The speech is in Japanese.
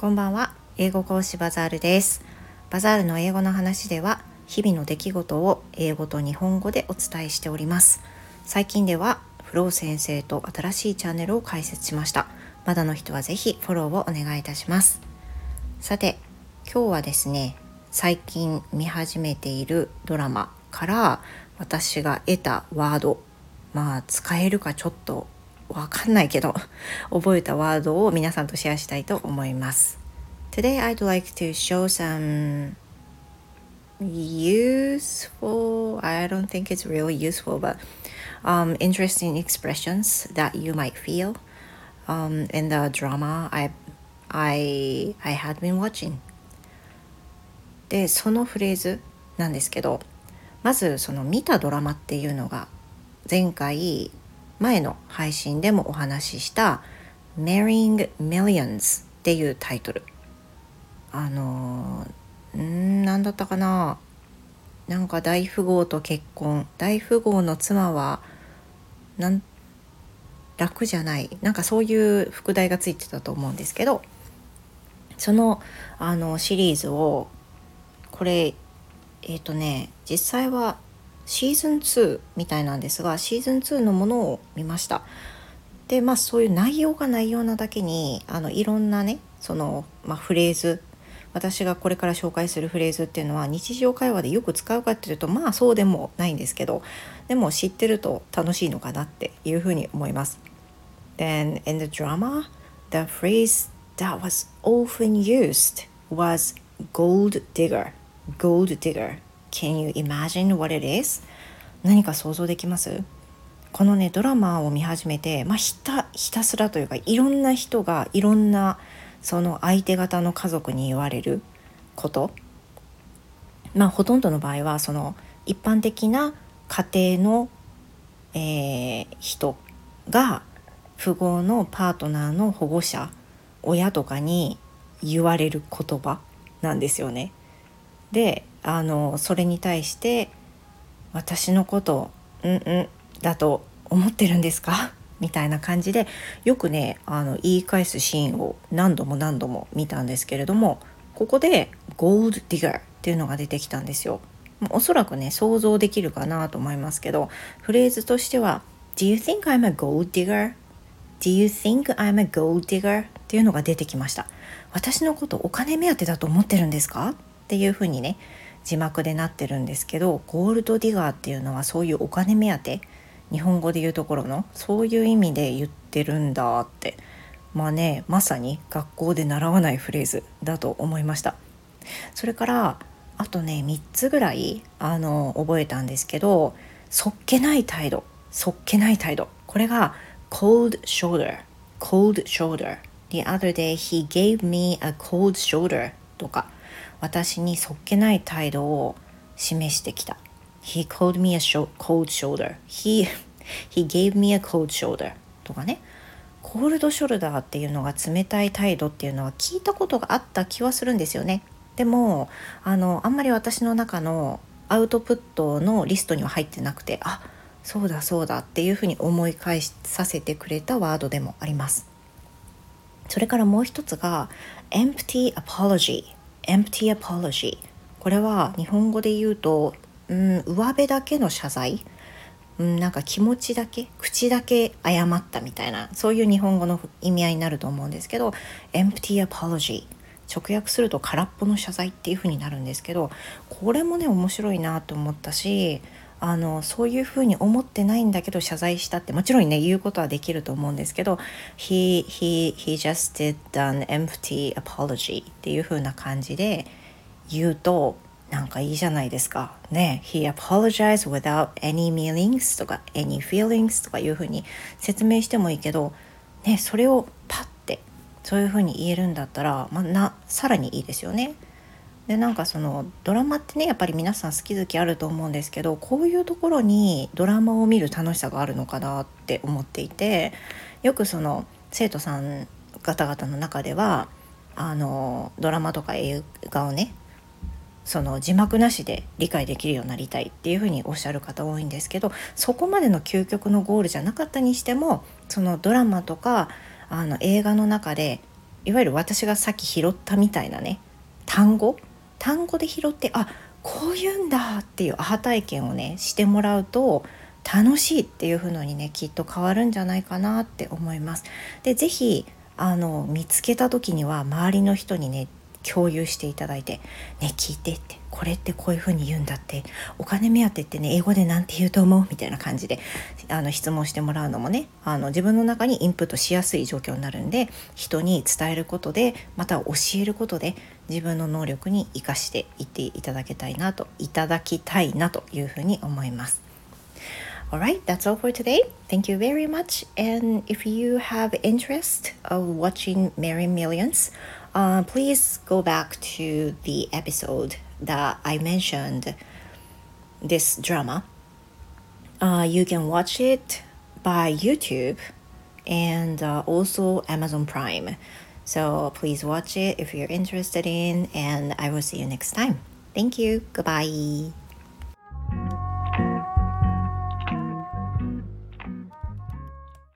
こんばんは。英語講師バザールです。バザールの英語の話では日々の出来事を英語と日本語でお伝えしております。最近ではフロー先生と新しいチャンネルを開設しました。まだの人はぜひフォローをお願いいたします。さて、今日はですね、最近見始めているドラマから私が得たワード、使えるかちょっとわかんないけど覚えたワードを皆さんとシェアしたいと思います。 Today I'd like to show some useful, I don't think it's really useful, but interesting expressions that you might feel in the drama I had been watching. で、そのフレーズなんですけど、まずその見たドラマっていうのが前の配信でもお話ししたMarrying Millions っていうタイトル。なんだったかな、なんか大富豪と結婚、大富豪の妻は楽じゃない、なんかそういう副題がついてたと思うんですけど、そのシリーズをこれ実際はシーズン2みたいなんですが、シーズン2のものを見ました。で、そういう内容が内容なだけにいろんなね、フレーズ、私がこれから紹介するフレーズっていうのは日常会話でよく使うかっていうとそうでもないんですけど、でも知ってると楽しいのかなっていうふうに思います。Then in the drama, the phrase that was often used was gold digger. Gold digger. Can you imagine what it is? 何か想像できます？このね、ドラマを見始めて、ひたすらというか、いろんな人がいろんなその相手方の家族に言われること、ほとんどの場合はその一般的な家庭の、人が富豪のパートナーの保護者、親とかに言われる言葉なんですよね。で、それに対して私のことだと思ってるんですかみたいな感じでよくね、言い返すシーンを何度も見たんですけれども、ここでゴールドディガーっていうのが出てきたんですよ。おそらくね、想像できるかなと思いますけど、フレーズとしては Do you think I'm a gold digger? Do you think I'm a gold digger? っていうのが出てきました。私のことお金目当てだと思ってるんですかっていうふうにね、字幕でなってるんですけど、ゴールドディガーっていうのはそういうお金目当て、日本語で言うところのそういう意味で言ってるんだって、まさに学校で習わないフレーズだと思いました。それからあとね、3つぐらい覚えたんですけど、そっけない態度、これが cold shoulder The other day he gave me a cold shoulder とか、私にそっけない態度を示してきた。He called me a cold shoulder. He gave me a cold shoulder とかね。コールドショルダーっていうのが冷たい態度っていうのは聞いたことがあった気はするんですよね。でもあんまり私の中のアウトプットのリストには入ってなくて、そうだっていうふうに思い返させてくれたワードでもあります。それからもう一つが empty apology。これは日本語で言うと、上辺だけの謝罪、なんか気持ちだけ、口だけ謝ったみたいな、そういう日本語の意味合いになると思うんですけど、 empty apology、 直訳すると空っぽの謝罪っていう風になるんですけど、これもね面白いなと思ったし、そういう風に思ってないんだけど謝罪したって、もちろんね言うことはできると思うんですけど、 he just did an empty apology っていう風な感じで言うとなんかいいじゃないですかね。 He apologized without any meanings とか any feelings とかいう風に説明してもいいけどね、それをパッてそういう風に言えるんだったら、さらにいいですよね。で、なんかそのドラマってね、やっぱり皆さん好き好きあると思うんですけど、こういうところにドラマを見る楽しさがあるのかなって思っていて、よくその生徒さん方々の中ではドラマとか映画をね、その字幕なしで理解できるようになりたいっていうふうにおっしゃる方多いんですけど、そこまでの究極のゴールじゃなかったにしても、そのドラマとか映画の中でいわゆる私がさっき拾ったみたいなね、単語で拾って、あ、こういうんだっていうアハ体験をねしてもらうと楽しいっていう風にねきっと変わるんじゃないかなって思います。でぜひ見つけた時には周りの人にね共有していただいて、ね、聞いてって、これってこういう風に言うんだって、お金目当てってね英語でなんて言うと思うみたいな感じで質問してもらうのもね、自分の中にインプットしやすい状況になるんで、人に伝えることでまた教えることで自分の能力に生かしていっていただきたいなというふうに思います。Alright, that's all for today. Thank you very much. And if you have interest of watching Merry Millions, please go back to the episode that I mentioned this drama. You can watch it by YouTube and also Amazon Prime. So please watch it if you're interested in, and I will see you next time. Thank you. Goodbye.